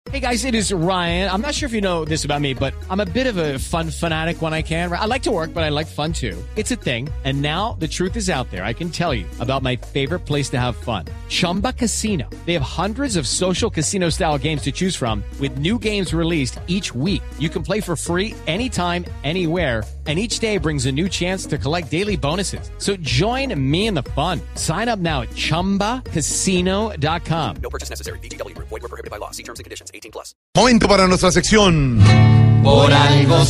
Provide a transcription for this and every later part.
Hey guys, it is Ryan. I'm not sure if you know this about me, but I'm a bit of a fun fanatic when I can. I like to work, but I like fun too. It's a thing. And now the truth is out there. I can tell you about my favorite place to have fun. Chumba Casino. They have hundreds of social casino style games to choose from with new games released each week. You can play for free anytime, anywhere. And each day brings a new chance to collect daily bonuses. So join me in the fun. Sign up now at ChumbaCasino.com. No purchase necessary. VGW Group. Void where prohibited by law. See terms and conditions. 18+. Momento para nuestra sección. Por algo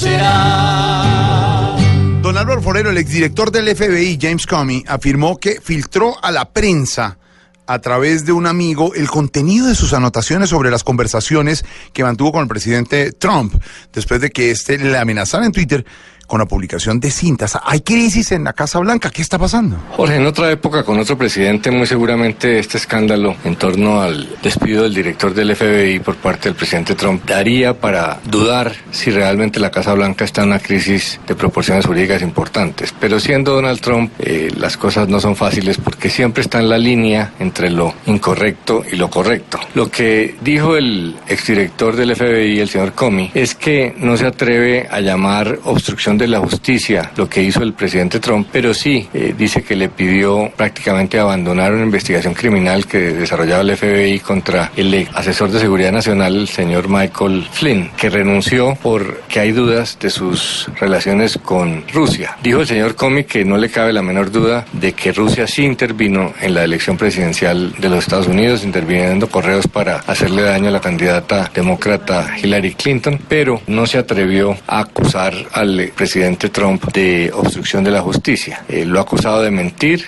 será. Don Álvaro Forero, el exdirector del FBI, James Comey, afirmó que filtró a la prensa a través de un amigo el contenido de sus anotaciones sobre las conversaciones que mantuvo con el presidente Trump después de que éste le amenazara en Twitter con la publicación de cintas. Hay crisis en la Casa Blanca. ¿Qué está pasando? Jorge, en otra época, con otro presidente, muy seguramente este escándalo en torno al despido del director del FBI por parte del presidente Trump daría para dudar si realmente la Casa Blanca está en una crisis de proporciones jurídicas importantes. Pero siendo Donald Trump, las cosas no son fáciles porque siempre está en la línea entre lo incorrecto y lo correcto. Lo que dijo el exdirector del FBI, el señor Comey, es que no se atreve a llamar obstrucción de la justicia lo que hizo el presidente Trump, pero sí dice que le pidió prácticamente abandonar una investigación criminal que desarrollaba el FBI contra el asesor de seguridad nacional, el señor Michael Flynn, que renunció porque hay dudas de sus relaciones con Rusia. Dijo el señor Comey que no le cabe la menor duda de que Rusia sí intervino en la elección presidencial de los Estados Unidos, interviniendo correos para hacerle daño a la candidata demócrata Hillary Clinton, pero no se atrevió a acusar al presidente Trump de obstrucción de la justicia. Lo ha acusado de mentir,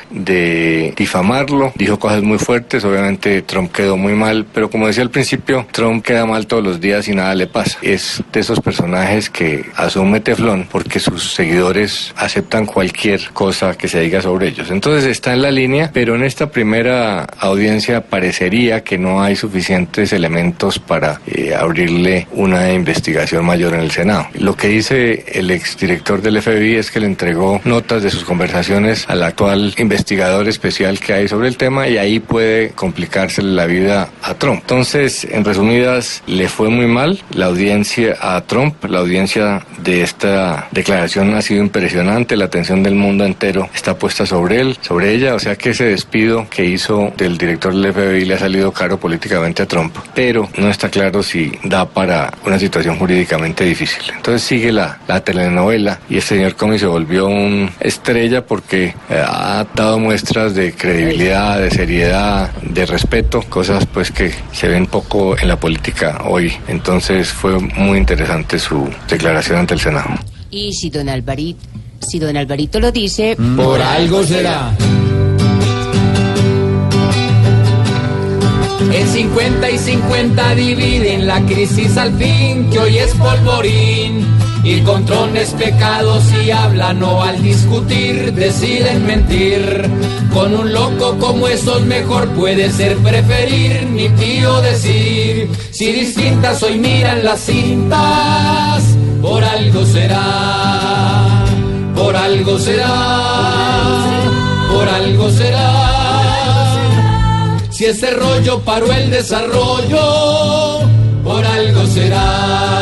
de difamarlo, dijo cosas muy fuertes. Obviamente Trump quedó muy mal, pero como decía al principio, Trump queda mal todos los días y nada le pasa. Es de esos personajes que asume teflón porque sus seguidores aceptan cualquier cosa que se diga sobre ellos. Entonces está en la línea, pero en esta primera audiencia parecería que no hay suficientes elementos para abrirle una investigación mayor en el Senado. Lo que dice el exdirector del FBI es que le entregó notas de sus conversaciones al actual investigador especial que hay sobre el tema y ahí puede complicarse la vida a Trump. Entonces, en resumidas, le fue muy mal la audiencia a Trump. La audiencia de esta declaración ha sido impresionante. La atención del mundo entero está puesta sobre él, sobre ella. O sea que ese despido que hizo del director del FBI le ha salido caro políticamente a Trump. Pero no está claro si da para una situación jurídicamente difícil. Entonces sigue la telenovela y el señor Comey se volvió una estrella porque ha dado muestras de credibilidad, de seriedad, de respeto, cosas pues que se ven poco en la política hoy. Entonces fue muy interesante su declaración ante el Senado. Y si don Alvarito lo dice, Por algo será. En 50 y 50 dividen la crisis al fin, que hoy es polvorín. Y con trones pecados y hablan o al discutir deciden mentir. Con un loco como esos mejor puede ser preferir ni tío decir. Si distintas hoy miran las cintas, por algo será, por algo será, por algo será. Si ese rollo paró el desarrollo, por algo será.